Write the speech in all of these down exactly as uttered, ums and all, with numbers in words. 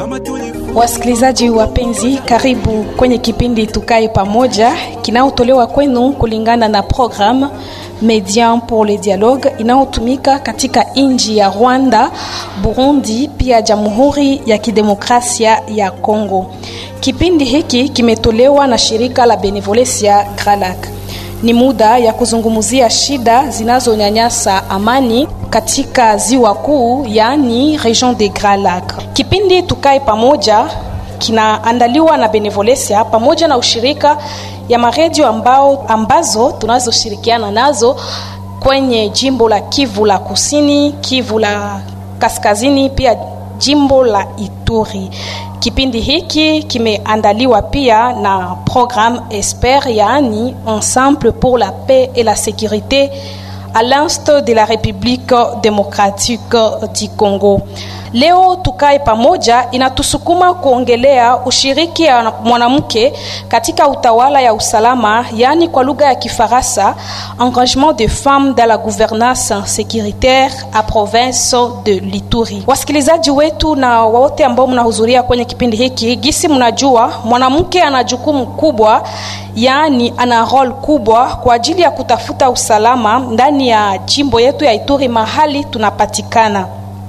Wasikilizaji wapenzi, karibu kwenye kipindi Tukae Pamoja kinaotolewa kwenu kulingana na programme Médian pour le Dialogue inayotumika katika nchi ya Rwanda, Burundi pia Jamhuri ya Kidemokrasia ya Kongo. Kipindi hiki kimetolewa na shirika la Benevolencia Gralac. Ni muda ya kuzungumzia shida zinazonyanyasa amani katika ziwa kuu, yani Region de Gralac. Kipindi Tukae Pamoja kinaandaliwa na Benevolencia pamoja na ushirika ya maredio ambao ambazo tunazoshirikiana nazo kwenye jimbo la Kivu la Kusini, Kivu la Kaskazini pia jimbo la Ituri. Kipindi hiki kimeandaliwa pia na programme Esper, yani Ensemble pour la paix et la sécurité à l'est de la République démocratique du Congo. Leo Tukae Pamoja inatusukuma kuongelea ushiriki ya mwanamke katika utawala ya usalama, yani kwa lugha ya Kifaransa engagement des femmes dans la gouvernance sécuritaire à province de l'Ituri. Wasikilizaji wetu na wote ambao mnahudhuria kwenye kipindi hiki, gisi mnajua mwanamke ana jukumu kubwa, yani ana role kubwa kwa ajili ya kutafuta usalama ndani ya jimbo yetu ya Ituri mahali tunapatikana.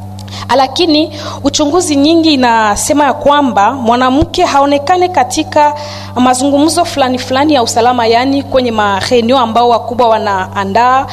Lakini uchunguzi nyingi inasema ya kwamba mwanamke haonekane katika mazungumzo fulani fulani ya usalama, yani kwenye mareunion ambao wakubwa wanaandaa.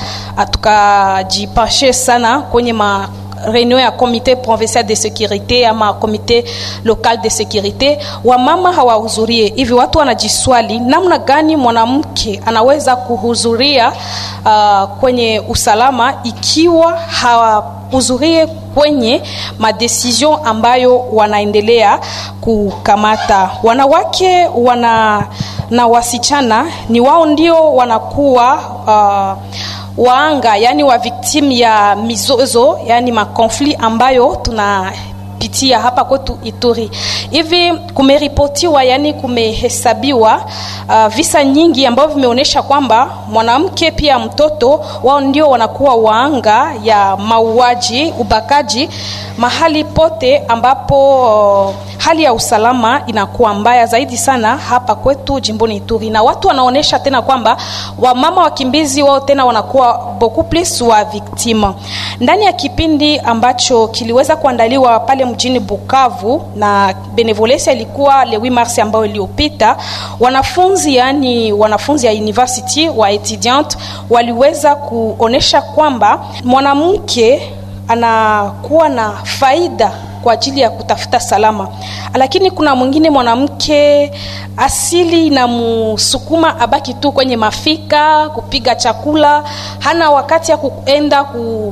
Tukajipashe sana kwenye ma réunion ya comité provincial de sécurité ama comité local de sécurité, wa mama hawahudhurie. Hivi watu wanajiswali namna gani mwanamke anaweza kuhudhuria uh, kwenye usalama ikiwa hawahudhurie kwenye madecision ambayo wanaendelea kukamata. Wanawake wana na wasichana ni wao ndio wanakuwa uh, waanga, yani wa victim ya mizozo, yani ma conflit ambayo tunapitia hapa kwetu Ituri. Hivi kumeripotiwa, yani kumehesabiwa uh, visa nyingi ambavyo vimeonyesha kwamba mwanamke pia mtoto wao ndio wanakuwa waanga ya mauaji, ubakaji mahali pote ambapo uh, hali ya usalama inakuwa mbaya zaidi sana hapa kwetu jimboni Ituri. Na watu wanaonesha tena kwamba wamama wakimbizi wao tena wanakuwa beaucoup plus wa victime. Ndani ya kipindi ambacho kiliweza kuandaliwa pale mjini Bukavu na Benevolencia, ilikuwa le huit mars ambao iliyopita, wanafunzi yani wanafunzi ya university wa etudiant waliweza kuonesha kwamba mwanamke anakuwa na faida kwa ajili ya kutafuta salama, lakini kuna mwingine mwanamke asili na musukuma abaki tu kwenye mafika kupiga chakula, hana wakati ya kuenda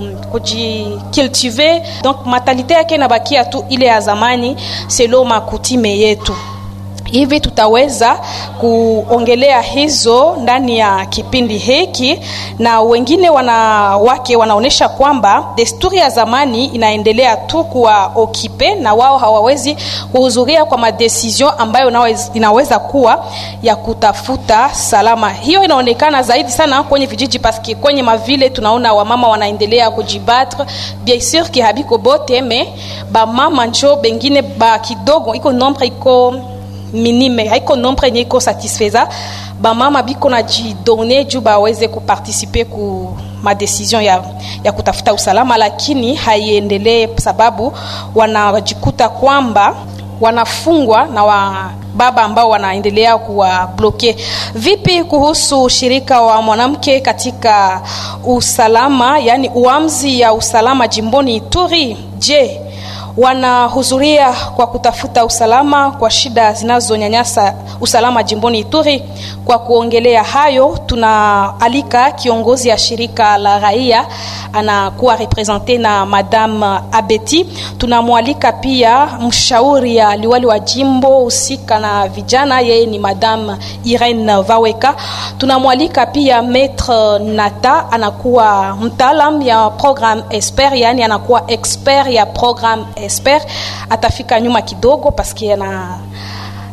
kujicultiver. Donc mentalite yake inabakia tu ile ya zamani selon makutime yetu. Hivi tutaweza kuongelea hizo ndani ya kipindi hiki, na wengine wanawake wanaonesha kwamba desturi ya zamani inaendelea tu kuwa okipe na wao hawawezi kuhudhuria kwa madecision ambayo naweza, inaweza kuwa ya kutafuta salama. Hiyo inaonekana zaidi sana kwenye vijiji, paski kwenye mavile tunaona wamama wanaendelea kujibatre. Bien sûr ki habiko bote me ba mama njo bengine ba kidogo iko nombre iko minime, haiko nombre nyeko satisfaisa. Ba mama biko na jidone juu baweze kuparticiper ku ma decision ya ya kutafuta usalama, lakini haiendelee sababu wanajikuta kwamba wanafungwa na wa baba ambao wanaendelea kuwa bloke. Vipi kuhusu shirika wa mwanamke katika usalama, yani uamzi ya usalama jimboni Ituri? Je, wanahudhuria kwa kutafuta usalama kwa shida zinazonyanyasa usalama jimboni Ituri? Kwa kuongelea hayo tunaalika kiongozi ya shirika la raia, anakuwa represente na Madame Abeti. Tunamwalika pia mshauri ya liwali wa jimbo usika na vijana, yeye ni Madame Irene Vaweka. Tunamwalika pia Maître Nata, anakuwa mtaalam ya programme Esper, yani anakuwa expert ya programme Esper. Atafika nyuma kidogo paski ana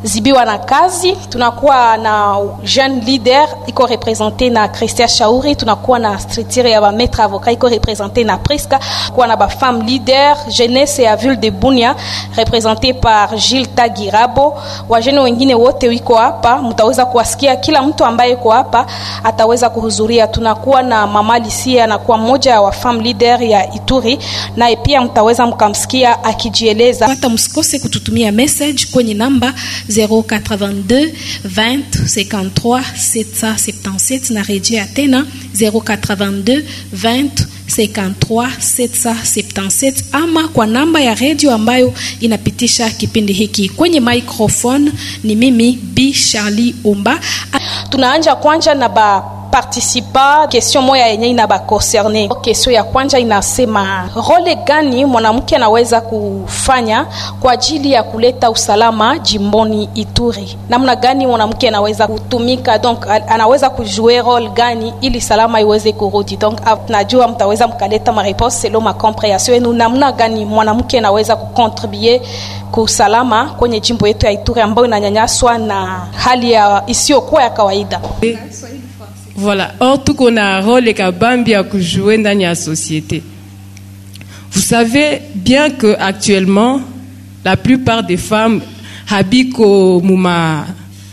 zibiwa na kazi. Tunakuwa na jeune leader iko represente na Christian Shauri, tunakuwa na structure ya ba maître avocat iko represente na Priska, kuwa na ba femme leader jeunesse ya ville de Bunia represente par Gilles Tagirabo. Wajene wengine wote wiko hapa, mtaweza kuwasikia, kila mtu ambaye yuko hapa ataweza kuhudhuria. Tunakuwa na mama Lisia anakuwa mmoja wa femme leader ya Ituri, na pia mtaweza mkamsikia akijieleza. Hata msikose kututumia message kwenye namba zero eighty-two twenty fifty-three sept cent seventy-sept na rejea tena zero eighty-two twenty fifty-three sept cent seventy-sept, ama kwa namba ya radio ambayo inapitisha kipindi hiki. Kwenye microphone ni mimi B Charlie Omba. Tunaanja kwanza na ba participa question moya yenye ina ba concerné. Question ya kwanza inasema, role gani mwanamke anaweza kufanya kwa ajili ya kuleta usalama jimboni Ituri? Namna gani mwanamke anaweza kutumika, donc anaweza kujouer role gani ili salama iweze kurudi? Donc najua mtaweza mkaleta ma réponse selon ma compréhension. Nous namna gani mwanamke anaweza kucontribuer kwa usalama kwenye jimbo yetu ya Ituri ambayo inanyanyaswa na hali ya isiyokuwa ya kawaida? Voilà. Or, tout qu'on a un rôle et kabambi à jouer dans la société. Vous savez bien que actuellement, la plupart des femmes habitent au mouma.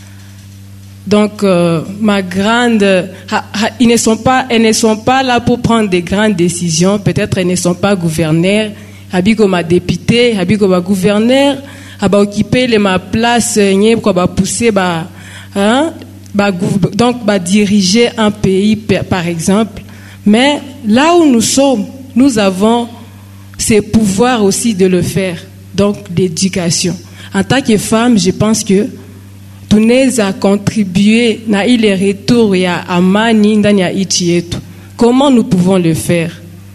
Donc, euh, ma grande, ha, ha, ils ne sont pas, elles ne sont pas là pour prendre des grandes décisions. Peut-être elles ne sont pas gouverneurs. Habitent comme ma députée, habitent comme ma gouverneur, habitent occuper les ma place, n'y quoi ba pousser ba, hein. Donc, bah, diriger un pays, par exemple. Mais là où nous sommes, nous avons ces pouvoirs aussi de le faire. Donc, l'éducation. En tant que femme, je pense que tout nous a contribué à les retours et à amani ndani ya nchi yetu. Comment nous pouvons le faire?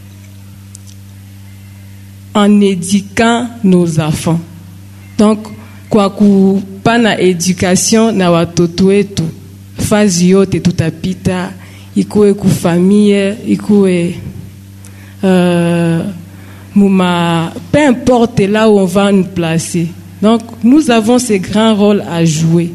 En éduquant nos enfants. Donc, kwa kupana éducation na watoto wetu. Fazi yote tutapita, ikuwe kufamille, ikuwe euh, mouma, peu importe là où on va nous placer. Donc nous avons ces grands rôles à jouer.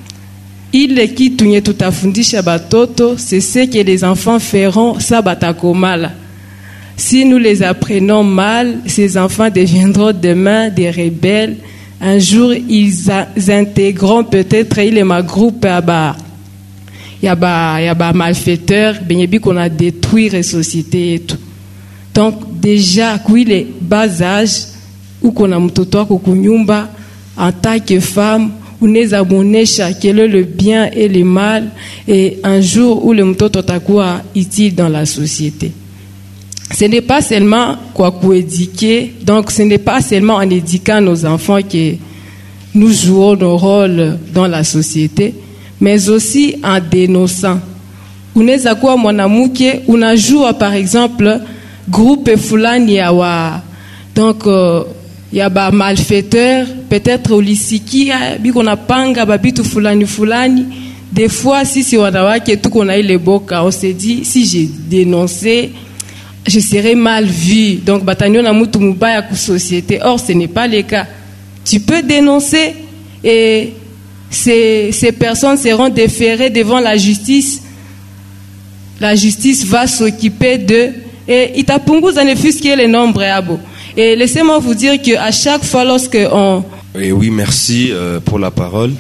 Il qui tunye tutafundisha batoto, c'est ce que les enfants feront, ça batakomala. Si nous les apprenons mal, ces enfants deviendront demain des rebelles. Un jour, ils, a, ils intégreront peut-être, il est ma groupe à bas. Il y a ba, il y a ba malfaiteurs, benyebi qu'on a détruit la société et tout. Donc, déjà, oui, les bas âges, où qu'on a mtoto ko kunyumba, en tant que femme, où nous abonesha, quel est le bien et le mal, et un jour où le mtoto takuwa utile dans la société. Ce n'est pas seulement quoi qu'on éduquer, donc ce n'est pas seulement en éduquant nos enfants que nous jouons nos rôles dans la société, mais aussi en dénonçant. Unaweza kuwa mwanamke unajua par exemple groupe fulani ya wa donc uh, ya ba malfaiteurs, peut-être ulisikia biko napanga babitu fulani fulani. Des fois si si wanawake tuko na ile boka, on se dit si j'ai dénoncé je serai mal vu, donc batanyo na mutu mubaya ku société. Or ce n'est pas le cas. Tu peux dénoncer et ces, ces personnes seront déférées devant la justice. La justice va s'occuper d'eux et itapunguza ne fût-ce que le nombre abo. Et laissez-moi vous dire que à chaque fois lorsque on et oui, merci euh, pour la parole.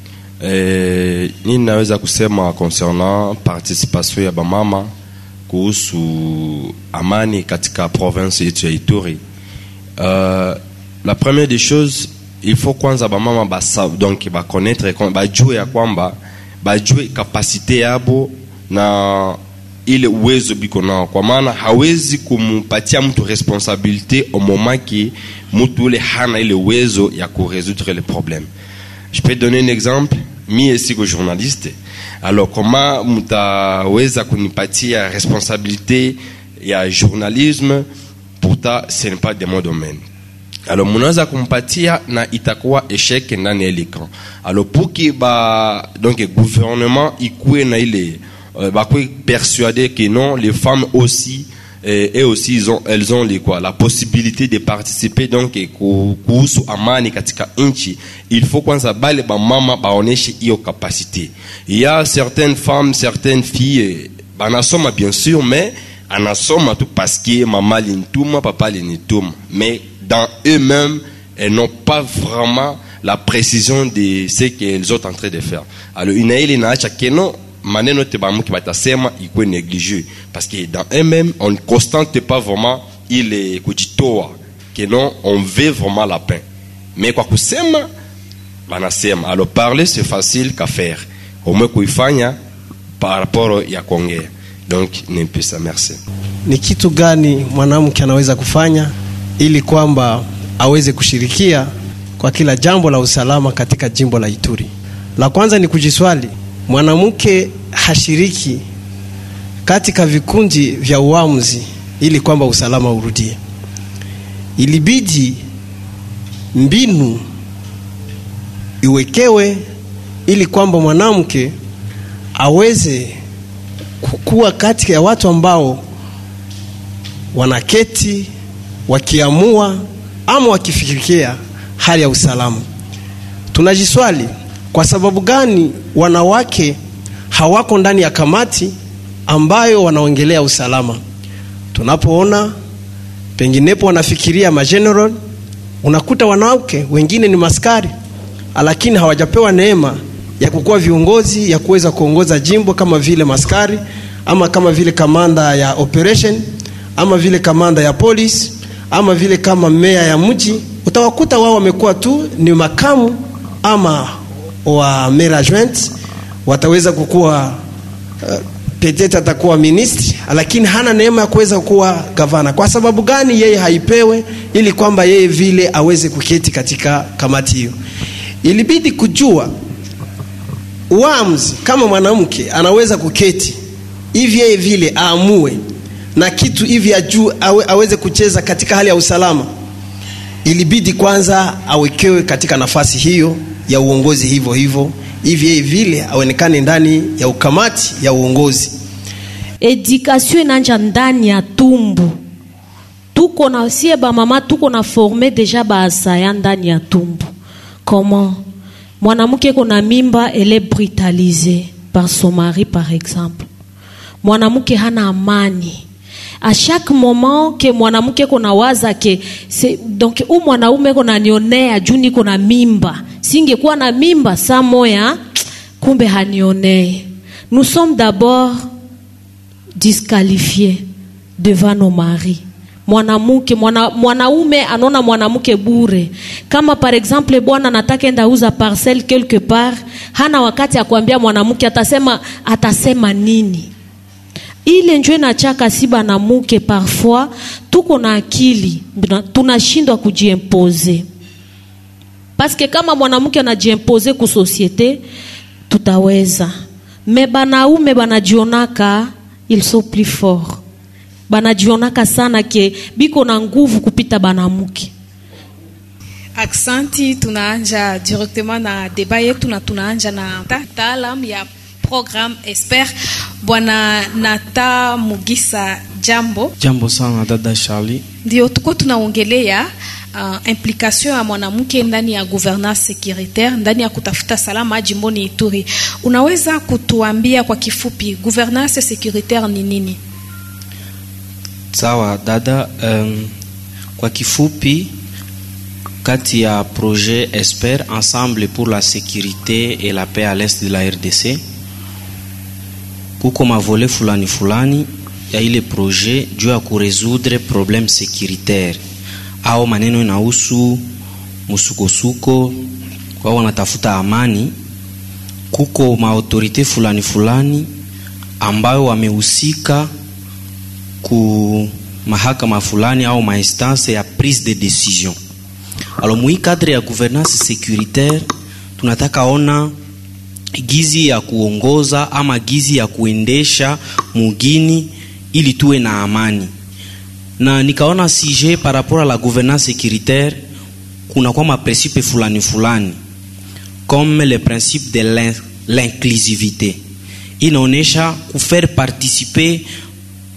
Eh, ninaweza kusema concernant participation ya bamama kuhusu amani katika province yetu ya Ituri. Euh, la première des choses, il faut kwanza bamama basa donc ba connaître ba jue ya kwamba ba jue capacité yabo na ile uwezo biko nao, kwa maana hawezi kumpatia mtu responsabilité au moment qui mtu ule hana ile uwezo ya kurésoudre les problèmes. Je peux donner un exemple. Mie siko journaliste. Alors comment mutaweza kunipatia responsabilité ya journalisme? Pourtant ce n'est pas de mon domaine. Alors munaweza kumpatia na itakuwa échec ndani ya l'écran. Alors pour que ba donc gouvernement ikuwe na ile euh, ba persuader que non, les femmes aussi et, et aussi ils ont, elles ont les quoi, la possibilité de participer donc kuhusu amani katika inchi. Il faut kwanza bale ba mama baoneshe hiyo capacité. Il y a certaines femmes, certaines filles banasoma bien sûr, mais anasoma tout parce que maman l'intuma, papa l'intuma, mais dans eux-mêmes elles n'ont pas vraiment la précision de ce qu'elles sont en train de faire. Alors inaili na acha keno maneno te bamuki batasema iko négligé parce que dans eux-mêmes on ne constante pas vraiment ile kujitoa que non on veut vraiment la paix, mais kwa kusema banasema. Alors parler c'est facile qu'à faire, au moins kuifanya par rapport ya kuongea. Donc ni pesa. Merci. Ni kitu gani mwanamke anaweza kufanya ili kwamba aweze kushirikia kwa kila jambo la usalama katika jimbo la Ituri? La kwanza ni kujiswali, mwanamke hashiriki katika vikundi vya uamuzi ili kwamba usalama urudie. Ilibidi mbinu iwekewe ili kwamba mwanamke aweze kuwa katika ya watu ambao wanaketi wakiamua ama wakifikiria hali ya usalama. Tunajiswali, kwa sababu gani wanawake hawako ndani ya kamati ambayo wanaongelea usalama? Tunapoona penginepo wanafikiria mageneral, unakuta wanawake wengine ni maskari lakini hawajapewa neema ya kukuwa viongozi ya kuweza kuongoza jimbo kama vile maskari ama kama vile kamanda ya operation ama vile kamanda ya police ama vile kama meya ya mji. Utawakuta wao wamekuwa tu ni makamu ama wa mayor adjoint, wataweza kukua uh, petete atakuwa ministri lakini hana neema ya kuweza kuwa gavana. Kwa sababu gani yeye haipewe ili kwamba yeye vile aweze kuketi katika kamati hiyo? Ilibidi kujua uamuzi kama mwanamke anaweza kuketi hivi yeye vile aamue na kitu hivi ajue awe, aweze kucheza katika hali ya usalama. Ilibidi kwanza awekewe katika nafasi hiyo ya uongozi hivyo hivyo hivi yeye vile aonekane ndani ya ukamati ya uongozi. Education inanja ndani ya tumbu. Tuko na sie ba mama tuko na former déjà ba asaya ndani ya tumbu. Comment mwanamke kuna mimba, elle est brutalisée par son mari par exemple. Mwanamke hana amani. À chaque moment que mwanamke kuna waza ke c'est donc u mwanaume kuna nionea juni kuna mimba, singekuwa na mimba saa moya kumbe hanionee. Nous sommes d'abord disqualifiés devant nos maris. Mwanamke mwana, mwanaume anona mwanamke bure. Kama par exemple bwana nataka enda uza parcelle quelque part, hana wakati ya kuambia mwanamke atasema atasema nini. Ile njwe na chaka siba na muke parfois tuko na akili tunashindwa kujiimposer. Parce que kama mwanamke anajiimposer ku société tutaweza. Mais banaume banajionaka ils sont plus forts. Banajionaka sana ke biko na nguvu kupita banamuke. Aksanti, tunaanja directement na débat yetu na tunaanja na taalam ya programme Esper. Bwana Nata Mugisa, jambo. Jambo sana dada Charlie. Ndio tuko tunaongelea uh, implication ya mwanamke ndani ya gouvernance sécuritaire, ndani ya kutafuta salama jimboni Ituri. Unaweza kutuambia kwa kifupi gouvernance sécuritaire ni nini? Sawa dada, um, kwa kifupi kati ya projet Esper, ensemble pour la sécurité et la paix à l'est de la R D C, kuko mavole fulani fulani ya ile projet juu ya kuresoudre problème sécuritaire au maneno inahusu musukosuko kwa wanatafuta amani. Kuko maautorite fulani fulani ambayo wamehusika ku mahakama fulani au mainstance ya prise de décision. Alors mui cadre ya gouvernance sécuritaire tunataka ona gizi ya kuongoza ama gizi ya kuendesha mugini ili tuwe na amani. Na nikaona sujet par rapport à la gouvernance sécuritaire kuna kwa ma principe fulani fulani comme le principe de l'inclusivité. Inaonesha kufaire participer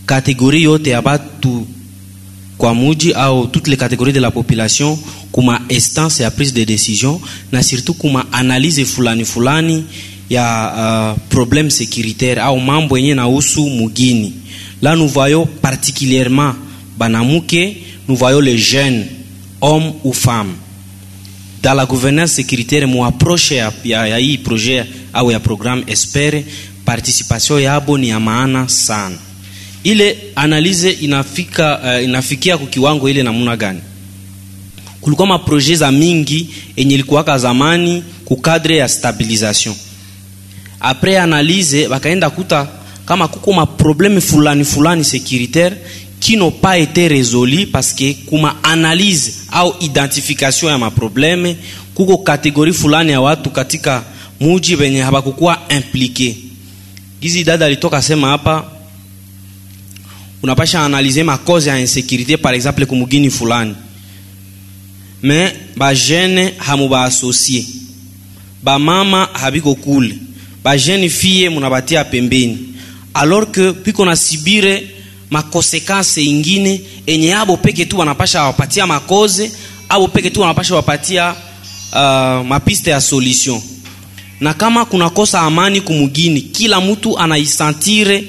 kategori yote ya batu kwa muji au toutes les catégories de la population kuma instance ya prise de décision na surtout kuma analyse fulani fulani ya uh, problème sécuritaire au mambo yenye na usu mugini. Là nous voyons particulièrement banamuke, nous voyons les jeunes hommes ou femmes dans la gouvernance sécuritaire. Mu approche ya, ya, ya hii projet au ya programme Espere, participation yabo ni ya maana sana. Ile analyse inafika uh, inafikia kwa kiwango ile namna gani? Kulikuwa ma projet za mingi enye ilikuwa zamani ku cadre ya stabilisation. Après analyse bakaenda kuta kama kuko ma problème fulani fulani sécuritaire qui n'ont pas été résolus parce que kuma analyse au identification ya ma problème kuko kategori fulani ya watu katika muji benye habakukuwa impliqué. Gizi dada alitoka sema hapa unapasha analyser ma cause ya insécurité par exemple kumugini fulani, mais ba jeune hamu ba associé, ba mama habiko kule, ba jeune fille munabatia pembeni, alors que piko na sibire ma conséquences ingine enye abo peke tu wanapasha wapatia ma cause, abo peke tu wanapasha wapatia uh, mapiste ya solution. Na kama kuna kosa amani kumugini, kila mtu anaisantire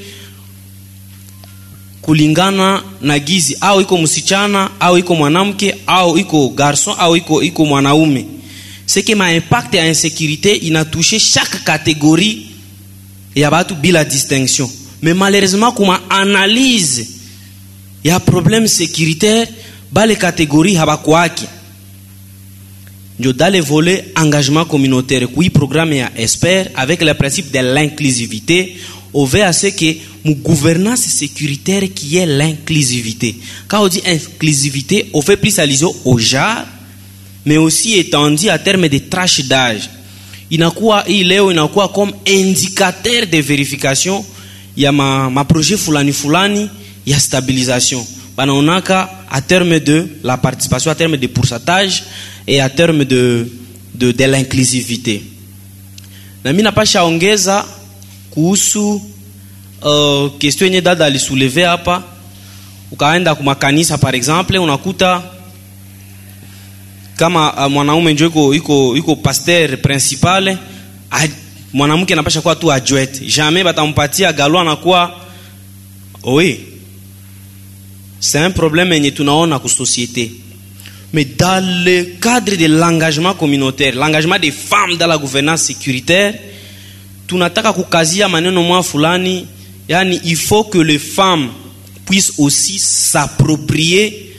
kulingana na gizi, au iko msichana au iko mwanamke au iko garçon au iko iko mwanaume. C'est que ma impact ya insécurité ina touché chaque catégorie ya batu bila distinction. Mais malheureusement kuma analyse ya problème sécuritaire bale catégorie habakwaki. Ndio dans le volet engagement communautaire kui programme ya Espere avec le principe de l'inclusivité, on veut à ce que mon gouvernance sécuritaire qui est l'inclusivité. Quand on dit inclusivité, on fait plus allusion au genre, mais aussi étendu à terme de tranche d'âge. Inakuwa hii leo inakuwa comme indicateur de vérification ya ma, ma projet fulani fulani ya stabilisation. Banaonaka à terme de la participation, à terme de pourcentage et à terme de de, de l'inclusivité. Na mimi napasha ongeza kuhusu uh, question yenye dada alisouleve hapa. Ukaenda kwa makanisa par exemple, unakuta kama uh, mwanaume ndio iko iko iko pasteur principal, mwanamke anapasha kuwa tu adjoint. Jamais batampatia galwa na kuwa oui. C'est un problème yenye tunaona ku société. Mais dans le cadre de l'engagement communautaire, l'engagement des femmes dans la gouvernance sécuritaire, tunataka kukazia maneno mwa fulani, yani il faut que les femmes puissent aussi s'approprier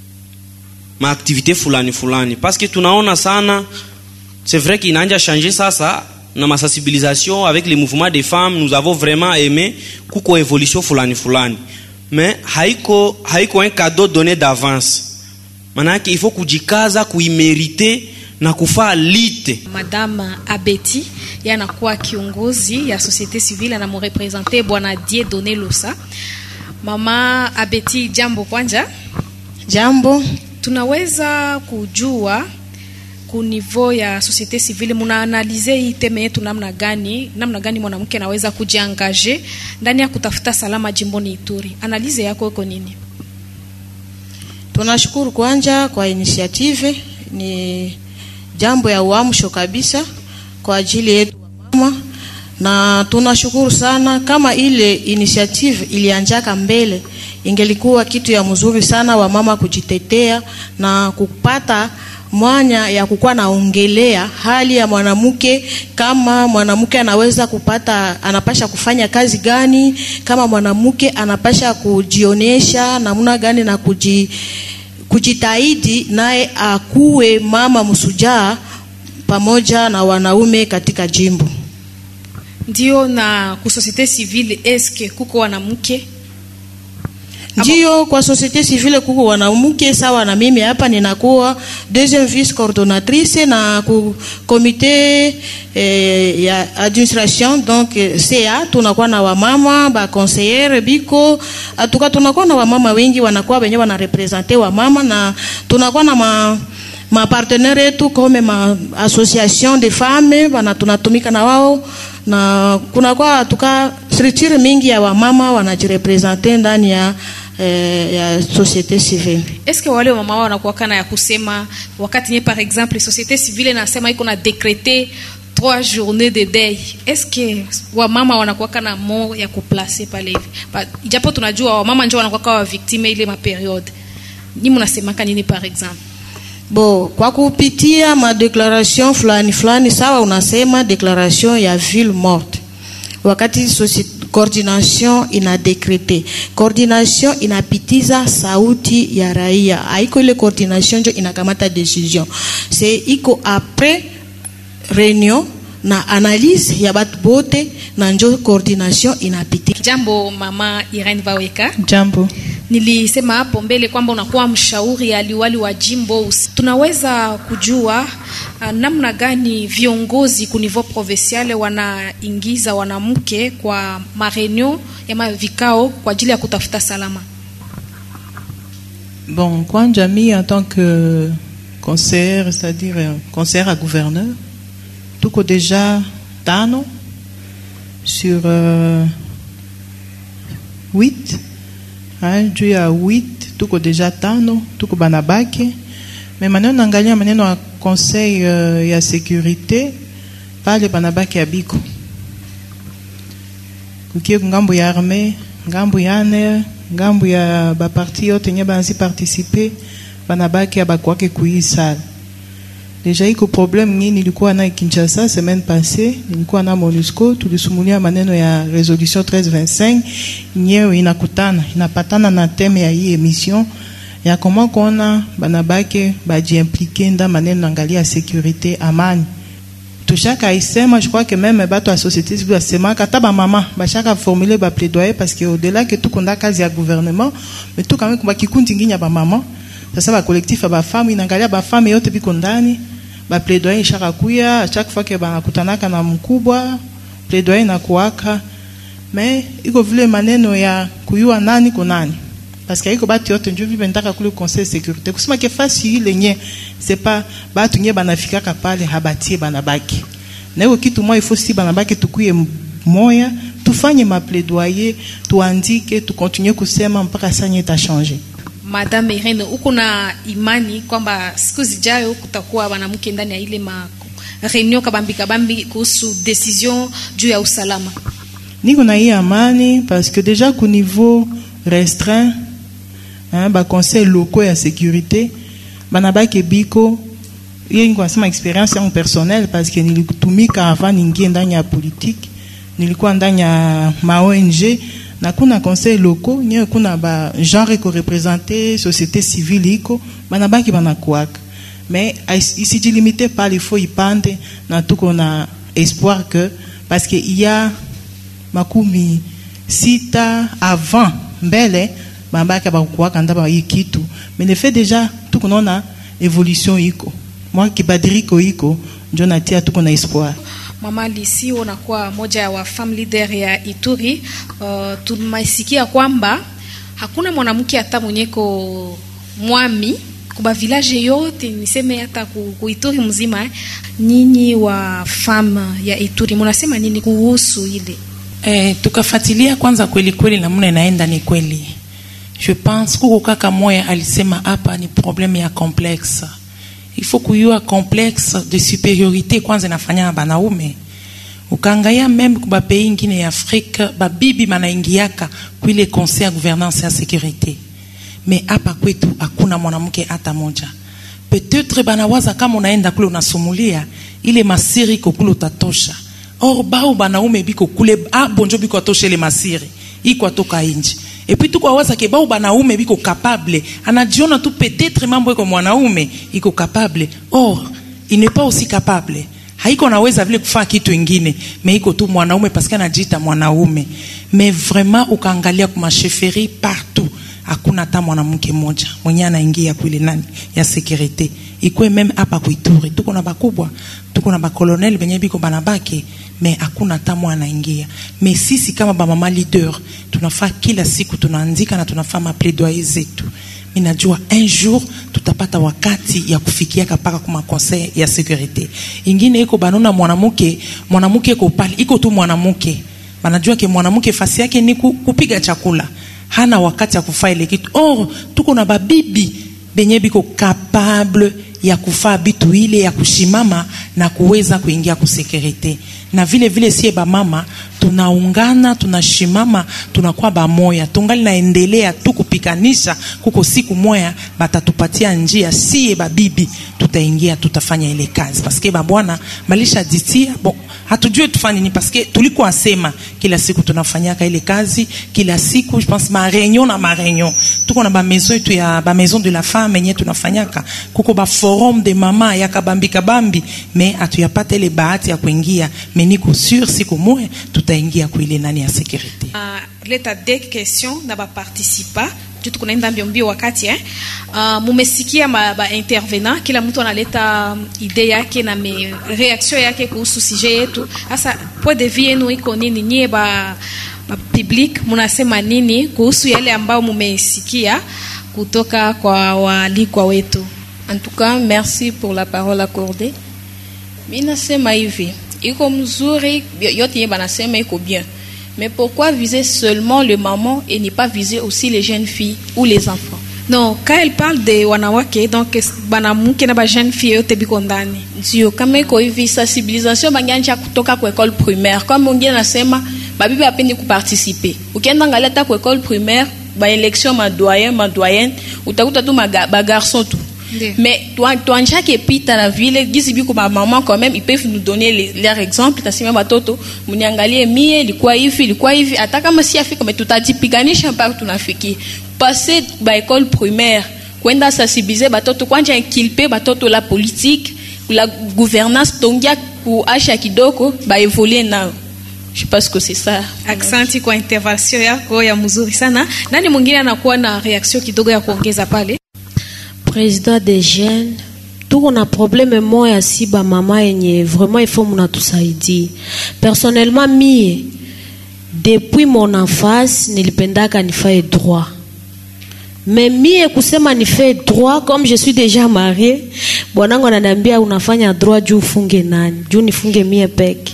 ma activité fulani fulani, parce que tunaona sana, c'est vrai qu'il n'a pas changé ça ça na ma sensibilisation avec les mouvements des femmes, nous avons vraiment aimé kuko évolution fulani fulani, mais haiko haiko un cadeau donné d'avance. Manake il faut kujikaza kuimériter na kufaa lite. Madame Abeti yanakuwa kiongozi ya société civile na mrepresenter bwana Dieudonné Losa. Mama Abeti, jambo kwanja. Jambo. Tunaweza kujua ku niveau ya société civile muna analyser hii teme yetu namna gani, namna gani mwanamke anaweza kujiangaje ndani ya kutafuta salama jimboni Ituri. Analyse yako iko nini? Tunashukuru kwanja kwa initiative, ni jambo ya uamsho kabisa kwa ajili yetu wa mama, na tunashukuru sana. Kama ile initiative ilianjaka mbele, ingelikuwa kitu ya mzuri sana wa mama kujitetea na kupata mwanya ya kukuwa naongelea hali ya mwanamke, kama mwanamke anaweza kupata, anapasha kufanya kazi gani, kama mwanamke anapasha kujionesha namna gani na kuji kujitahidi naye akuwe mama msujaa pamoja na wanaume katika jimbo. Ndio, na ku société civile eske kuko wanamke? Ndio, kwa société civile kuko wanamke sawa na mimi hapa ninakuwa deuxième vice coordonnatrice na ku comité eh, ya administration, donc C A tunakuwa na wamama ba conseillère biko, atuka tunakuwa na wamama wengi wanakuwa wenyewe wana representer wamama, na tunakuwa na ma ma partenaire yetu kome ma association de femmes wana tunatumika na wao, na kuna kwa tuka structure mingi ya wamama wanajirepresenter ndani ya eh, ya société civile. Est-ce que wale wamama wanakuwa kana ya kusema wakati nye par exemple société civile nasema iko na décréter trois journées de deuil, est-ce que wamama wanakuwa kana mo ya kuplacer pale hivi? Ijapo tunajua wamama ndio wanakuwa kwa victime ile ma periode. Ni mnasema kanini par exemple? Bo, kwa kupitia ma declaration fulani fulani, sawa unasema declaration ya ville morte. Wakati coordination ina décréter, coordination inapitiza sauti ya raia. Haiko ile coordination ndio inakamata decision. C'est iko après réunion na analyse ya batu bote na njo coordination inapiti. Jambo mama Irene Vaweka. Jambo. Nilisema hapo mbele kwamba unakuwa mshauri aliwali wa jimbo. Tunaweza kujua uh, namna gani viongozi ku niveau provincial wanaingiza wanamke kwa mareunion ya mavikao kwa ajili ya kutafuta salama? Bon, kwa jamii en tant que conseiller, c'est-à-dire conseiller à gouverneur, tuko déjà tano sur euh, huit. Hein, juu ya huit tuko déjà tano, tuko banabake. Mais maneno nangalia maneno ya conseil uh, ya sécurité pale banabake ya biko. Kukie ngambo ya armée, ngambo ya aner, ngambo ya ba parti yote nye banzi participer, banabake ya bakwake kuisal. Deja iko problème nini nilikuwa na Kinshasa semaine passée, nilikuwa na MONUSCO, tulisumulia maneno ya résolution treize vingt-cinq, nyewe inakutana, inapatana na thème ya hii émission ya comment kona banabake baji impliquer nda maneno angalia sécurité amani. Tushaka isema, je crois que même bato à société civile asema kata ba mama bashaka formuler ba plaidoyer parce que au-delà que tout konda kazi ya gouvernement, mais tout quand même kwa kikundi nginya ba mama. Sasa ba collectif ba femme inangalia ba femme yote biko ndani, ba plaidoyer ishaka kuya chaque fois que banakutanaka na mkubwa plaidoyer na kuaka, mais iko vile maneno ya kuyua nani ko nani, parce que iko batu yote ndio vile ndaka kule conseil sécurité kusema ke fasi ile nye c'est pas batu nye banafika kapale habatie banabaki na hiyo kitu moja ifo si banabaki tukuye moya tufanye ma plaidoyer tuandike tu continue kusema mpaka sanya ita changer. Madame Irene, uko na imani kwamba siku zijayo kutakuwa wanamke ndani ya ile ma reunion kabambi kabambi kuhusu decision juu ya usalama? Niko na hii amani parce que déjà au niveau restreint hein ba conseil locaux ya sécurité banabaki biko yeye niko nasema expérience yangu personnelle parce que nilitumika avant ningie ndani ya politique, nilikuwa ndani ya ma O N G na kuna conseil locaux nyewe kuna ba genre ko représenter société civile iko banabaki banakuaka, mais ici je limité pas il faut y pande na tuko na espoir que parce que il y a makumi sita avant mbele bambaka bakuaka ndaba yikitu, mais le fait déjà tuko na évolution iko moi kibadiriko iko ndio natia tuko na espoir. Mama Lisi, unakuwa moja ya wa femme leader ya Ituri. Uh, tumaisikia kwamba hakuna mwanamke hata mwenyeko mwami kuba village yote niseme hata ku, ku Ituri mzima. Nyinyi wa femme ya Ituri mnasema nini kuhusu ile? Eh, tukafatilia kwanza kweli kweli namna inaenda ni kweli. Je pense kuko kaka moya alisema hapa ni problème ya complexe. Il faut kuyua complexe de supériorité kwanza nafanya na banaume. Ukangaya même kuba pays ingine ya Afrique babibi manaingiaka kuile conseil ya gouvernance ya sécurité. Mais hapa kwetu hakuna mwanamke hata moja. Peut-être banawaza kama unaenda kule unasumulia ile masiri kokule utatosha. Or bao banaume biko kule ah bonjo biko atosha ile masiri. Iko toka inji. Et puis tout quoi waza ke bao banaume biko capable anajiona tu peut-être mambo iko mwanaume iko capable, or il n'est pas aussi capable, haiko naweza vile kufanya kitu kingine, mais iko tu mwanaume parce que anajiita mwanaume. Mais vraiment ukaangalia kwa chefferie partout hakuna hata mwanamke mmoja mwenye anaingia kule nani ya sécurité. Iko même hapa kuituri tuko na bakubwa, tuko na ba colonel benye biko banabaki, mais hakuna hata mwana anaingia. Mais sisi kama ba mama leader tunafaa kila siku tunaandika na tunafanya plaidoyer zetu. minajua un jour tutapata wakati ya kufikia kapaka kuma conseil ya sécurité. Ingine iko banona mwanamuke, mwanamuke iko pale, iko tu mwanamuke. Banajua ke mwanamuke fasi yake ni kupiga chakula. Hana wakati ya kufanya ile kitu. Or, tuko na babibi benye biko capable ya kufaa bitu ile ya kushimama na kuweza kuingia ku sécurité. Na vile vile sie ba mama tunaungana, tunashimama, tunakuwa ba moya. Tungali naendelea tu kupikanisha kuko siku moya batatupatia njia sie ba bibi tutaingia tutafanya ile kazi. Parce que ba bwana malisha ditia bon hatujue tufanye ni parce que tulikuwa asema kila siku tunafanyaka ile kazi kila siku. Je pense ma réunion na ma réunion tuko na ba maison yetu ya ba maison de la femme yenye tunafanyaka kuko ba forum de mama ya kabambi kabambi mais atuyapata ile bahati ya kuingia mais niko sûr siku moja tutaingia kwa ile nani ya sécurité. Uh, leta deux questions na ba participa tu tukunaenda mbio mbio wakati eh uh, mumesikia ma ba intervenant kila mtu analeta idea yake na me reaction yake kuhusu sujet yetu. Sasa point de vue yenu iko nini nyie ba, ba public munasema nini kuhusu yale ambao mumesikia kutoka kwa walikwa wetu? En tout cas, merci pour la parole accordée. Mina sema hivi, iko mzuri yote banasema iko bien. Mais pourquoi viser seulement le maman et ne pas viser aussi les jeunes filles ou les enfants? Non, quand elle parle de wanawake, donc banamuke na ba jeune fille yote biko ndani. Ndio kama iko hivi sensibilisation banganja kutoka kwa école primaire. Comme mwingine anasema babibi apendi kuparticiper. Ukienda ngaleta kwa école primaire, ba élection ma doyen, ma doyenne, utakuta tu ba garçon tout. De. Mais toi, toi, chaque épita la ville, gizi biko ba maman quand même, ils peuvent nous donner les, leurs exemples. Tasima batoto, muniangalie mie, ilikuwa hivi, ilikuwa hivi. Hata kama si afika, mais tutajipiganisha mpaka tunafiki. Passer ba école primaire, kwenda sensibiliser batoto, kwanja inculper batoto la politique, la gouvernance, tongia ku asha kidoko, ba évoluer nao. Je pense que c'est ça. Aksanti kwa intervention yako ya mzuri sana. Nani mwingine anakuwa na reaction kidogo ya kuongeza pale? Président des jeunes, tuko na problème moya si ba mama yenye vraiment il faut mnatusaidie. Personnellement mie depuis mon enfance nilipendaka nifae droit. Mais mie kusema nifae droit comme je suis déjà mariée, bwanangu ananiambia unafanya droit juu ufunge nani? Juu nifunge mie peke.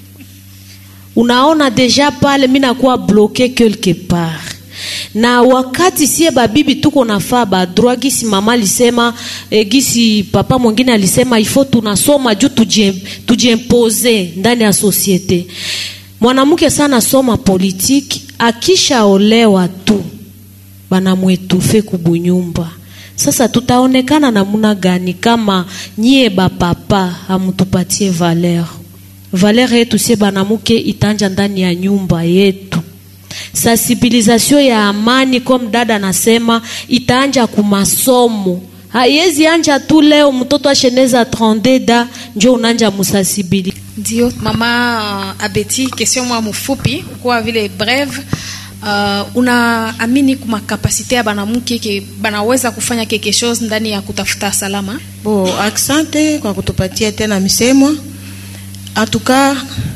Unaona déjà pale mimi nakuwa bloqué quelque part. Na wakati sie babibi tuko nafaa ba droit gisi mama alisema e, gisi papa mwingine alisema ifo tunasoma juu tujiempose ndani ya societe. Mwanamke sana soma politiki akisha olewa tu banamwetufe kubunyumba. Sasa tutaonekana namuna gani kama nyie ba papa amutupatie valeur? Valeur yetu sie banamuke itanja ndani ya nyumba yetu. Sensibilisation ya amani comme dada anasema itaanja kumasomo. Haiwezi anja tu leo mtoto asheneza trente da njo unanja musasibili. Ndio mama Abeti, question mwa mfupi kwa vile breve. Uh, unaamini kuma kapasite ya banamuke ke banaweza kufanya quelque chose ndani ya kutafuta salama? Bo, asante kwa kutupatia tena misemo. En tout cas,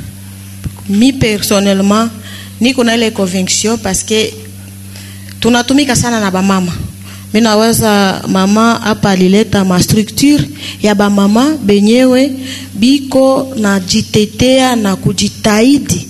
mi personnellement niko na ile conviction parce que tunatumika sana na ba mama. Mimi naweza mama hapa alileta ma structure ya ba mama benyewe biko na jitetea na kujitahidi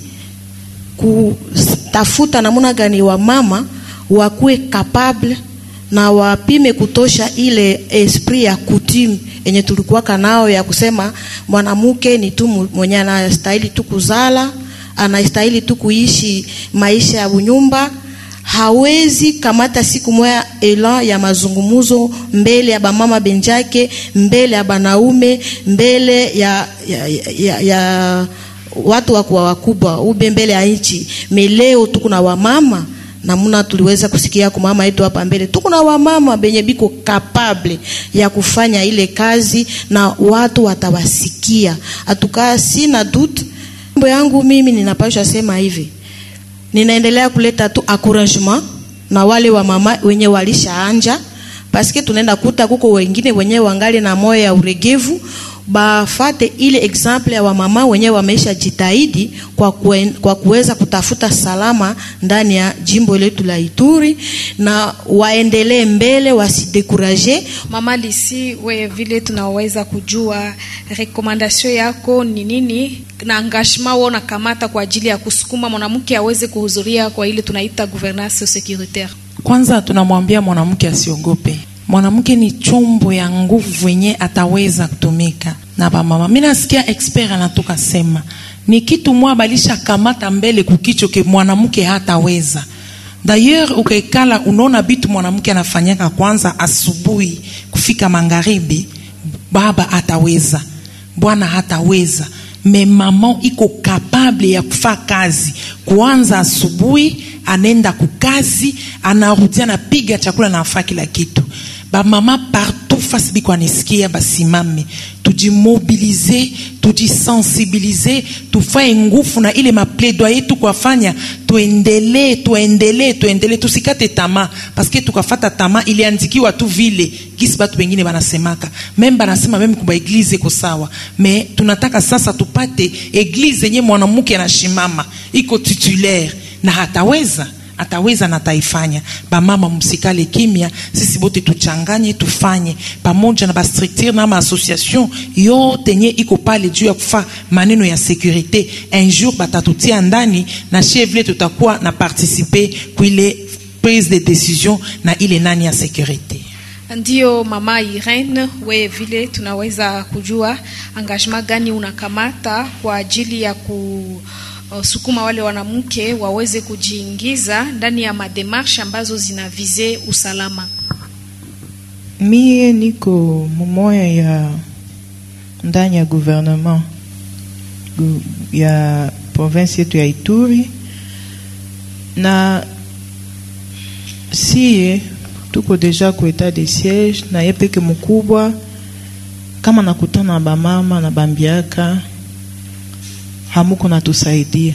kutafuta namuna gani wa mama wakuwe capable na wapime kutosha ile esprit ya coutume yenye tulikuwa kanao ya kusema mwanamke ni tu mwenye anastahili tu kuzala, anastahili tu kuishi maisha ya unyumba. Hawezi kamata siku moja elan ya mazungumuzo mbele ya bamama benjake, mbele ya banaume, mbele ya ya, ya, ya watu wakubwa wakubwa, ube mbele ya nchi. Meleo tuko na wamama namuna tuliweza kusikia kwa mama yetu hapa mbele. Tuko na wamama benye biko capable ya kufanya ile kazi na watu watawasikia. Atukaa sina doute. Mambo yangu mimi ninapaswa sema hivi. Ninaendelea kuleta tu encouragement na wale wa mama wenye walishaanja, parce que tunaenda kuta kuko wengine wenye wangali na moyo ya uregevu, bafate ile example ya wamama wenyewe wameisha jitahidi kwa kuen, kwa kuweza kutafuta salama ndani ya jimbo letu la Ituri, na waendelee mbele, wasidekuraje. Mama Lisi, we vile tunaweza kujua recommendation yako ni nini na engagement wao na kamata kwa ajili ya kusukuma mwanamke aweze kuhudhuria kwa ile tunaita gouvernance sécuritaire? Kwanza tunamwambia mwanamke asiogope. Mwanamke ni chombo ya nguvu yenye ataweza kutumika na ba mama. Mimi nasikia expert anatoka sema ni kitu mwa balisha kamata mbele kukicho ke mwanamke hataweza. D'ailleurs ukekala unaona bitu mwanamke anafanyaka kwanza asubuhi kufika magharibi, baba ataweza, bwana hataweza. Me mama iko capable ya kufanya kazi kuanza asubuhi, anenda kukazi, anarudia na piga chakula na afanya kila kitu. Ba mama partout fasi biko anisikia basimame, tujimobilize, tujisensibilize, tufaye nguvu na ile mapledoyer tu kwafanya, tuendelee, tuendelee, tuendelee, tusikate tama, paske tukafata tama ile andikiwa tu vile gisi batu wengine banasemaka. Meme banasema meme kuba eglise iko sawa, me tunataka sasa tupate eglise yenye mwanamke anashimama, iko titulaire na hataweza ataweza na taifanya. Ba mama msikale kimya, sisi bote tuchanganye tufanye pamoja na ba structure na ma association yote nye iko pale juu ya kufa maneno ya sécurité. Un jour batatutia ndani na chevle tutakuwa na participer kuile prise de décision na ile nani ya sécurité. Ndio mama Irene, we vile tunaweza kujua engagement gani unakamata kwa ajili ya ku sukuma wale wanamke waweze kujiingiza ndani ya mademarshe ambazo zinavize usalama? Mie niko mumoya ya ndani ya gouvernement ya province yetu ya Ituri, na siye tuko deja ku etat de siège, na yepeke mkubwa kama nakutana na bamama na bambiaka hamuko natusaidia.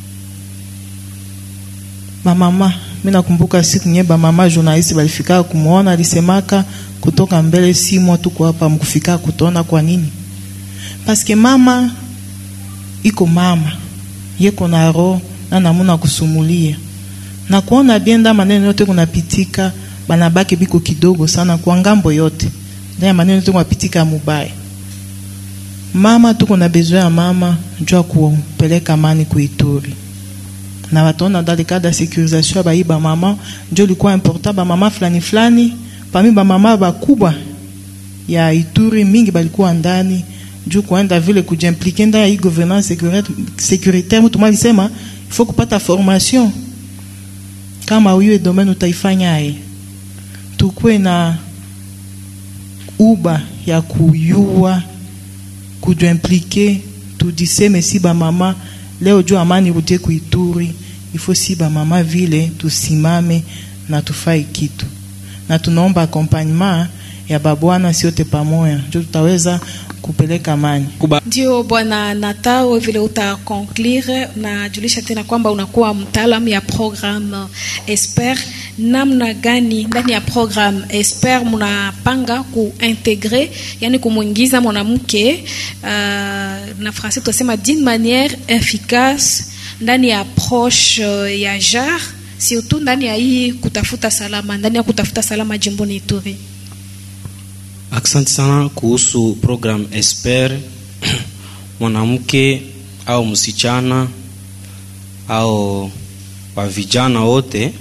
Mamama, mimi nakumbuka siku nye ba mama journalist balifika kumuona, alisemaka kutoka mbele si mwa tuko hapa mkufika kutona. Kwa nini? Paske mama iko mama, yeko na roho na namuna kusumulia na kuona bienda maneno yote kunapitika, banabaki biko kidogo sana kwa ngambo yote, ndio maneno yote kunapitika mubaya. Mama tuko na besoin ya mama njoo kupeleka amani ku Ituri. Na watona dans le cadre de sécurisation ba iba mama njoo likuwa important, ba mama flani flani parmi ba mama bakubwa ya Ituri mingi balikuwa ndani njoo kuenda vile kujimpliquer ndani ya gouvernance sécuritaire. Mtu mali sema il faut kupata formation kama uyo domaine utaifanya ai tukwe na uba ya kuyua kujo impliquer tudiseme si ba mama leo juu amani rudie ku Ituri, ifo si ba mama vile tusimame na tufai kitu, na tunaomba accompagnement ya babwana siote pamoja ndio tutaweza kupeleka amani. Ndio bwana Natao, vile uta conclure na julisha tena kwamba unakuwa mtaalamu ya program Esper. Namna gani ndani ya program Esper mnapanga kuintegrer, yani kumuingiza mwanamke uh, na français tunasema d'une manière efficace ndani ya approche uh, ya genre, surtout ndani ya hii kutafuta salama, ndani ya kutafuta salama jimboni Ituri? Asante sana kuhusu program Esper. Mwanamke au msichana au wa vijana wote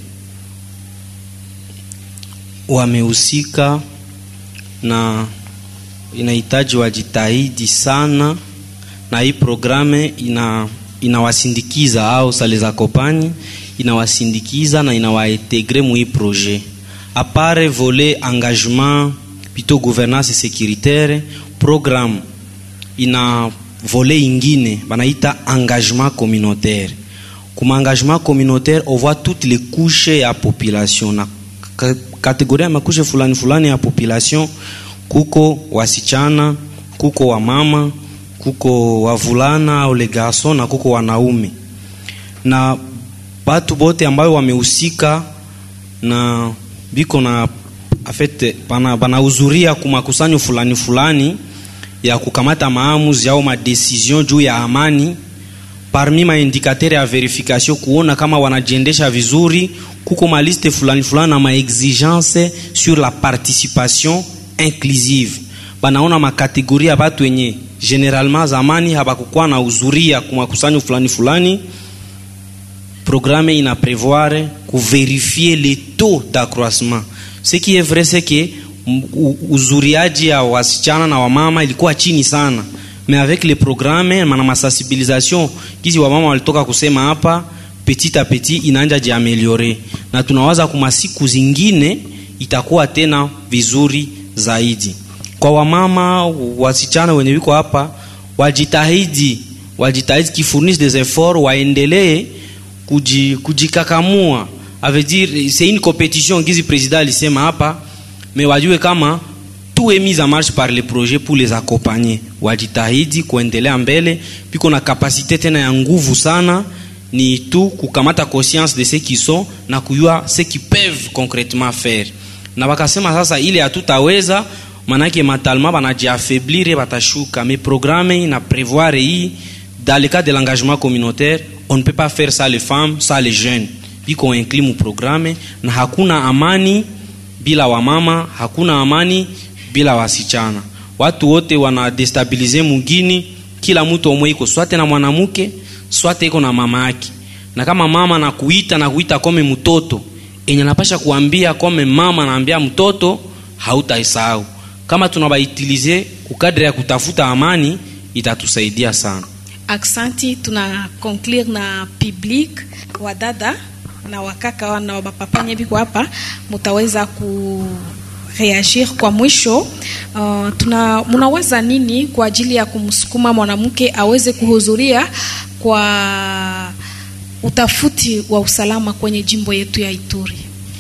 wamehusika na inahitaji wajitahidi sana, na hii programe ina inawasindikiza au sales accompagne inawasindikiza na inawaintegrer mu hii projet. A part volet engagement plutôt gouvernance sécuritaire, programme ina volet ingine banaita engagement communautaire. Comme engagement communautaire on voit toutes les couches ya population, na kategoria ya makushe fulani fulani ya population. Kuko wasichana, kuko wa mama, kuko wavulana au les garçons, na kuko wanaume. Na batu bote ambayo wamehusika na biko na en fait bana bana uzuria kumakusanyo fulani fulani ya kukamata maamuzi au madecision juu ya amani. Parmi ma indicateur ya verification kuona kama wanajiendesha vizuri, kuko ma liste fulani fulani na ma exigence sur la participation inclusive. Banaona ma kategoria ya watu wenye generalement zamani habakukuwa na uzuria kwa makusanyo fulani fulani. Programme ina prévoir ku vérifier les taux d'accroissement. Ce qui est vrai c'est que uzuriaji ya wasichana na wamama ilikuwa chini sana, mais avec les programmes na masensibilisation kizi wamama walitoka kusema hapa, petit à petit inaanza jiameliore, na tunawaza kuma siku zingine itakuwa tena vizuri zaidi. Kwa wamama wasichana wenye wiko hapa, wajitahidi wajitahidi kifurnishe des efforts, waendelee kujikakamua. Ça veut dire c'est une compétition kizi président alisema hapa, mais wajue kama tout est mis en marche par les projets pour les accompagner. Wajitahidi kuendelea mbele, piko na capacité tena ya nguvu sana, ni tu kukamata conscience de ce qui sont na kujua ce qui peuvent concrètement faire. Na wakasema sasa ile hatutaweza, manake matalma banajiaffaiblir batashuka, mais programme ina prévoir hii dans le cadre de l'engagement communautaire, on ne peut pas faire ça les femmes, ça les jeunes. Biko inclus mu programme, na hakuna amani bila wamama, hakuna amani bila wasichana. Watu wote wana destabilize mugini, kila mtu omwe iko swate na mwanamke, swate iko na mama yake. Na kama mama na kuita na kuita kome mtoto, enye napasha kuambia kome mama naambia mtoto, hautaisahau. Kama tunabaitilize kukadri ya kutafuta amani, itatusaidia sana. Aksanti, tuna conclure na public wadada na wakaka na wabapapa nyebi kwa hapa, mutaweza ku reagir kwa mwisho. Uh, tuna munawaza nini kwa ajili ya kumsukuma mwanamke aweze kuhudhuria kwa utafuti wa usalama kwenye jimbo yetu ya Ituri?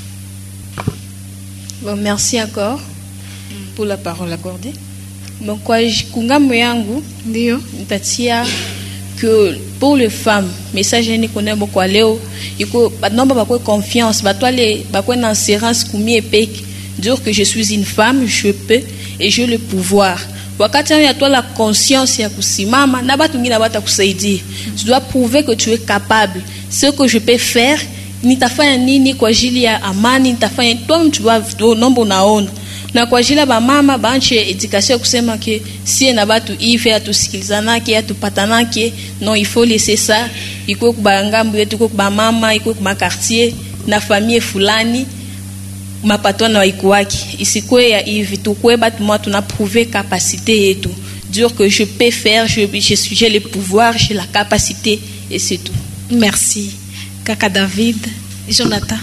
Bon, merci encore pour la parole accordée. Bon, kwa kungambo yangu ndio nitatia que pour les femmes, message ni connaît beaucoup leo, iko banomba bakwe confiance, batwale bakwe na assurance kumi epek, dire que je suis une femme, je peux et j'ai le pouvoir. Wakati ya toi la conscience ya kusimama na batu ngina bata kusaidia. Tu dois prouver que tu es capable. Ce que je peux faire, nitafanya nini kwa ajili ya amani, nitafanya toi tu dois nombo naona. Na kwa ajili ya mama banche education kusema que si na batu ife atusikilizana ke atupatana ke non, il faut laisser ça. Iko kubangambu yetu ko ba mama, iko kuma quartier na famille fulani mapato na ikuwaki isikwe ya hivi tukwe batu moi tuna prouver capacité yetu, dire que je peux faire, je je suis j'ai le pouvoir, j'ai la capacité et c'est tout. Merci kaka David. Jonathan.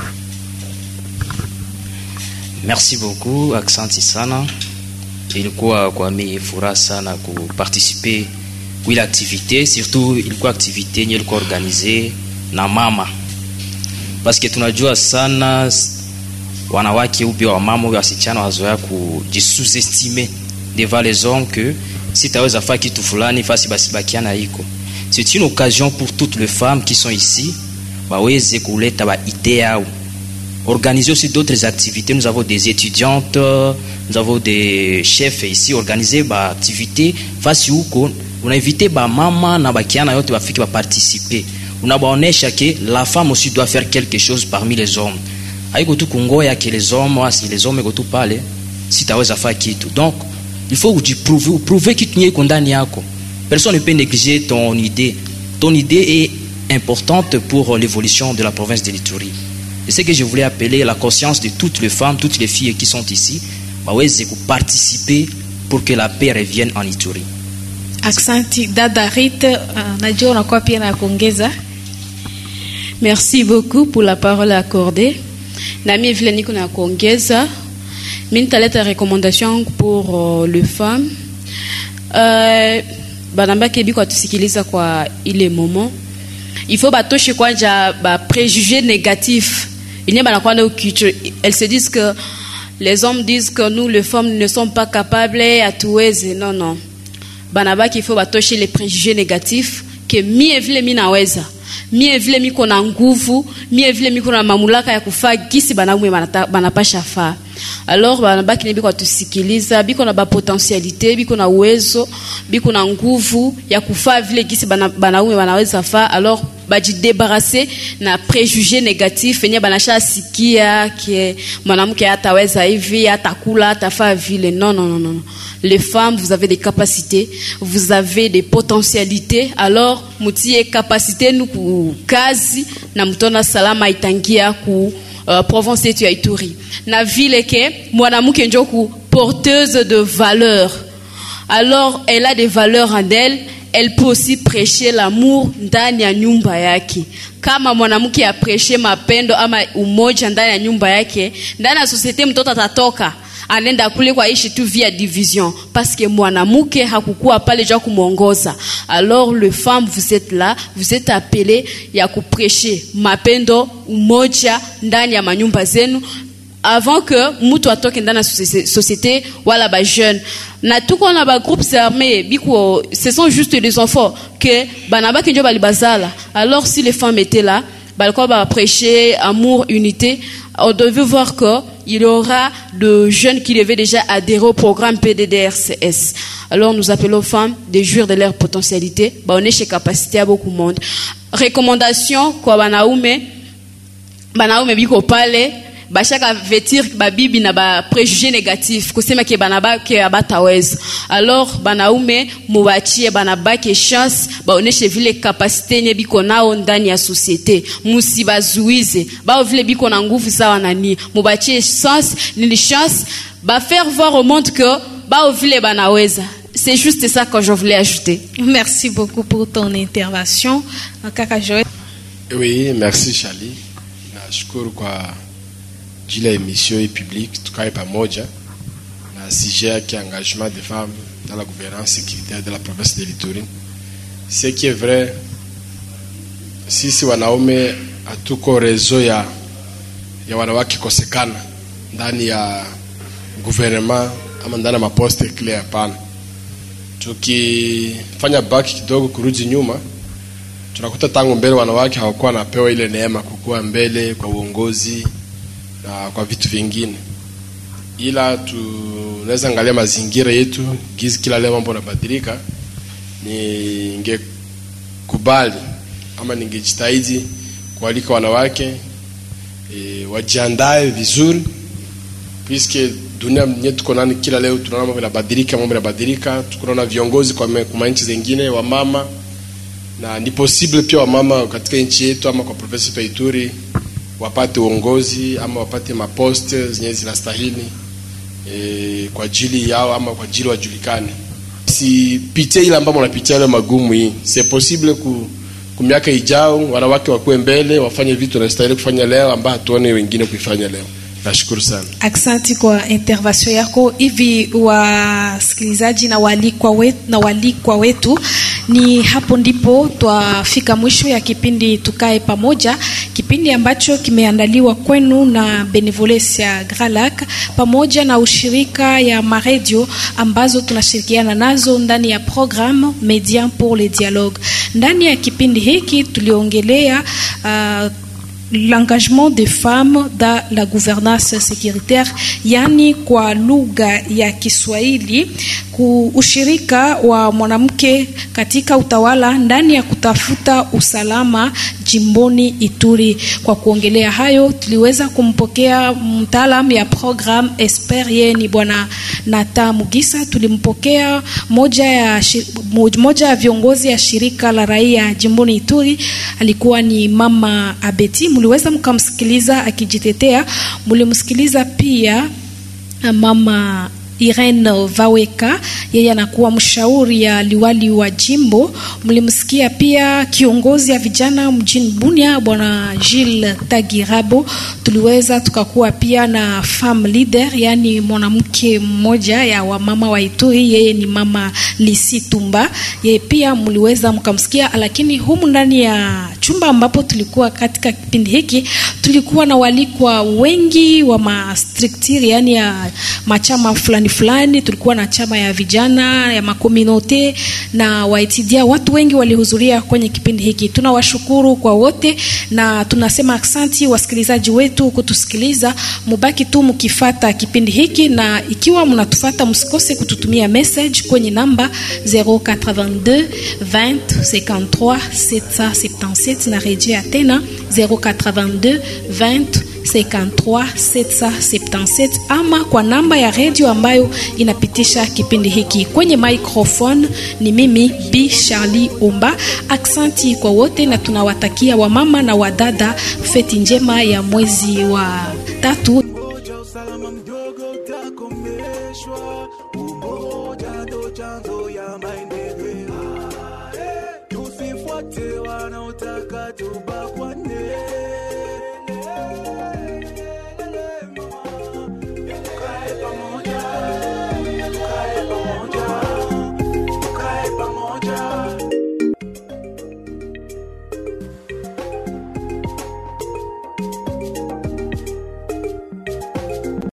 Merci beaucoup, aksanti sana. Ilikuwa kwa mimi furaha sana kuparticiper kwa ile activité, surtout ilikuwa activité yenye ilikuwa organisée na mama. Parce que tunajua sana wanawake ou bien wamama ou wasichana wazoea kujisous-estimer devant les hommes que si taweza fanya kitu fulani fasi basi bakiana iko. C'est une occasion pour toutes les femmes qui sont ici baweze kuleta ba idée yao. Organiser aussi d'autres activités. Nous avons des étudiantes, nous avons des chefs ici, organiser des activités. Face où on a invité ba maman na bakiana yote bafiki ba participer. On a baonesha que la femme aussi doit faire quelque chose parmi les hommes. Aiko tu kungoya que les hommes, si les hommes go parler, si taweza fa kitu. Donc, il faut que tu prouves, prouver que tu es condamné yako. Personne ne peut négliger ton idée. Ton idée est importante pour l'évolution de la province de l'Ituri. Et ce que je voulais appeler la conscience de toutes les femmes, toutes les filles qui sont ici, waweze participer pour que la paix revienne en Ituri. Aksanti dada Rite, najua unakuwa pia na kuongeza. Merci beaucoup pour la parole accordée. Nami vile niko na kuongeza, mimi nitaleta recommandation pour uh, les femmes. Euh banamba kebi kwa tusikiliza kwa ile moment. Il faut batoshe kwanja ba préjugés négatifs. Il n'y a pas de culture. Elles se disent que les hommes disent que nous les femmes ne sommes pas capables à tout aiser. Non non. Banaba qu'il faut batoshe les préjugés négatifs que mi evile mi naweza. mie vile miko na nguvu, mie vile miko na mamulaka ya kufaa gisi banaume banapasha faa. Alors banabaki biko tusikiliza, biko na ba potentialité, biko na uwezo, biko na nguvu ya kufaa vile gisi banaume banaweza faa. Alors baji débarrasser na préjugés négatifs enye banasha sikia que mwanamke hataweza hivi, hatakula, hatafaa vile. Non non non non. Les femmes, vous avez des capacités, vous avez des potentialités. Alors mutie capacité nous ku kazi na mtona salama itangia ku uh, province yetu ya Ituri. Na vile ke mwanamke njo ku porteuse de valeurs. Alors elle a des valeurs en elle. Elle peut aussi prêcher l'amour ndani ya nyumba yake. Kama mwanamke ya prêcher mapendo ama umoja ndani ya nyumba yake, ndani ya societe mtoto atatoka anenda kule kwa ishi tu via division parce que mwanamke hakukua pale jua kumuongoza. Alors le femme, vous êtes là, vous êtes appelé ya kuprêcher mapendo umoja ndani ya manyumba zenu avant que mutu atoke ndani ya société wala ba jeune. Na tuko na ba groupes armés biko, ce sont juste des enfants que banaba kinjo bali bazala. Alors si les femmes étaient là, balko ba prêcher amour, unité, on devait voir que il y aura de jeunes qui devaient déjà adhérer au programme P D D R C S. Alors nous appelons aux femmes de jouir de leur potentialité, ba on est chez capacité à beaucoup de monde. Recommandation kwa banaume, banaume biko pale bashaka vetir babibi na ba préjugés négatifs kusema ke banaba ke abataweza. Alors banaume mubachie banabaki chance baoneshe vile capacité nye biko nao ndani ya société, musibazuize bao vile biko na nguvu sawa nani, mubachie chance ni chance ba faire voir au monde que bao vile banaweza. C'est juste ça que je voulais ajouter. Merci beaucoup pour ton intervention. Kaka Joël. Oui, merci Charlie. Nashukuru kwa jila émission et publique tukae pamoja na sujet qui engagement des femmes dans la gouvernance sécuritaire de la province de l'Ituri. Ce qui est vrai, sisi wanaume hatuko rezo ya ya wanawake kosekana ndani ya gouvernement ama ndani ya maposte clear hapana. Tukifanya baki kidogo kurudi nyuma, tunakuta tangu mbele wanawake hawakuwa napewa ile neema kukua mbele kwa uongozi na kwa vitu vingine. Ila tunaweza angalia mazingira yetu gizi kila leo mambo yanabadilika, ningekubali ama ningejitahidi kualika wanawake e, wajiandae vizuri puisque dunia yetu tuko nani kila leo tunaona mambo yanabadilika, mambo yanabadilika, tunaona viongozi kwa kwa nchi zingine wa mama, na ni possible pia wa mama katika nchi yetu ama kwa province ya Ituri wapate uongozi ama wapate maposte zenye zinastahili e, kwa ajili yao ama kwa ajili wajulikane. Si pitia ile ambapo unapitia ile magumu hii, c'est possible ku kumiaka ijao wanawake wakuwe mbele wafanye vitu wanastahili kufanya leo ambao hatuone wengine kuifanya leo. Nashukuru sana. Aksanti kwa intervention yako. Hivi wasikilizaji na walikwa wetu, na walikwa wetu, ni hapo ndipo twafika mwisho ya kipindi Tukae Pamoja, kipindi ambacho kimeandaliwa kwenu na Benevolencia Gralac pamoja na ushirika ya maradio ambazo tunashirikiana nazo ndani ya programme Médias pour le Dialogue. Ndani ya kipindi hiki tuliongelea uh, l'engagement des femmes dans la gouvernance sécuritaire, yani kwa lugha ya Kiswahili ushirika wa mwanamke katika utawala ndani ya kutafuta usalama jimboni Ituri. Kwa kuongelea hayo tuliweza kumpokea mtaalamu ya program Esper, yeye ni bwana Nata Mugisa. Tulimpokea moja ya moja ya viongozi ya shirika la raia jimboni Ituri, alikuwa ni mama Abeti. Mliweza mkamsikiliza akijitetea. Mlimsikiliza pia mama Irene Vaweka, yeye anakuwa mshauri ya liwali wa jimbo. Mlimsikia pia kiongozi ya vijana mjini Bunia bwana Gilles Tagirabo. Tuliweza tukakuwa pia na femme leader, yani mwanamke mmoja ya wamama wa Ituri, yeye ni mama Lisi Tumba. Yeye pia mliweza mkamsikia, lakini humu ndani ya chumba ambapo tulikuwa katika kipindi hiki, tulikuwa na walikwa wengi wa mastructure, yani ya machama fulani fulani. Tulikuwa na chama ya vijana ya makominote na waitidia, watu wengi walihudhuria kwenye kipindi hiki. Tunawashukuru kwa wote na tunasema asante wasikilizaji wetu kutusikiliza. Mubaki tu mkifata kipindi hiki, na ikiwa mnatufata msikose kututumia message kwenye namba zero eight two vingt cinquante-trois sept cent soixante-dix-sept na rejea tena zero eight two vingt cinquante-trois sept cent soixante-dix-sept, ama kwa namba ya radio ambayo inapitisha kipindi hiki. Kwenye microphone ni mimi B Charlie Omba. Aksanti kwa wote na tunawatakia wamama na wadada feti njema ya mwezi wa tatu.